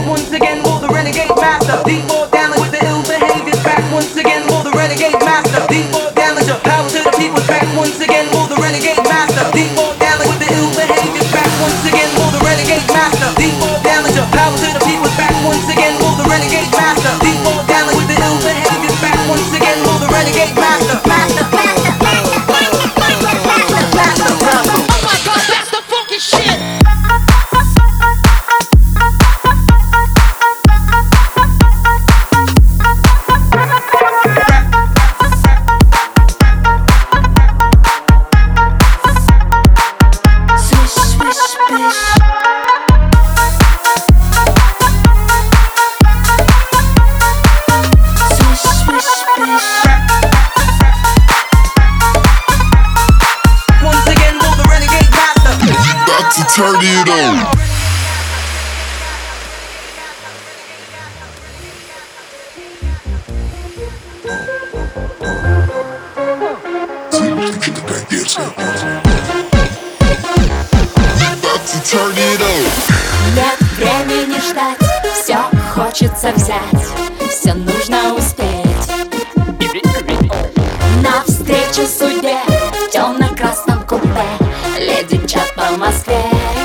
once again. Will the renegade master default down with the ill behaviors back once again? Will the renegade master default down with your power to the people's back once again? Will the renegade master default down with the ill behaviors back once again? Will the renegade master default down with your power to the people's back once again? Will the renegade master default down with the ill behaviors back once again? Will the renegade master master master master master master master? Oh my God, that's the funky shit. Turn it on. Turn it on. Нет времени ждать, все хочется взять, все нужно успеть. Навстречу судьбе в темно-красном купе леди мчат по Москве.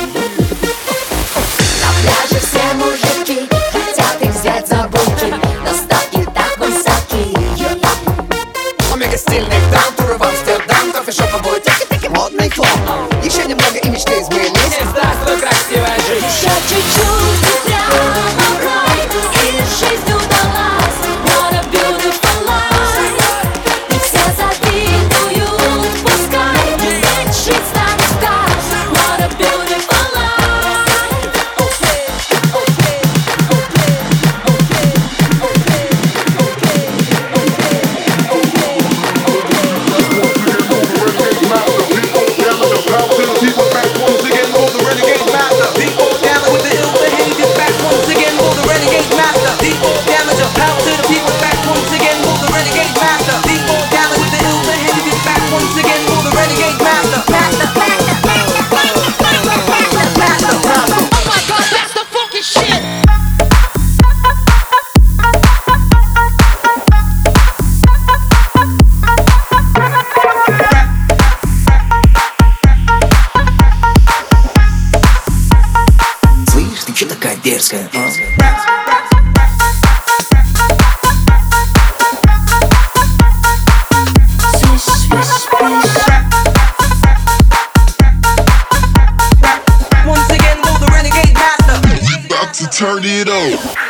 На пляже все мужики хотят их взять за булки, но ставки так высоки. Омега стильный даунтур в Амстердам, кофешоп будет тики-тики, модный хлам. Еще немного и мечты изменились. Здравствуй, красивая жизнь. Еще чуть-чуть и прямо в рай, и жизнь удалась. What a beautiful life. И все завидуют, пускай лечить станет в кайф. What a beautiful life. Слышь, ты чё такая дерзкая, а? Turn it on.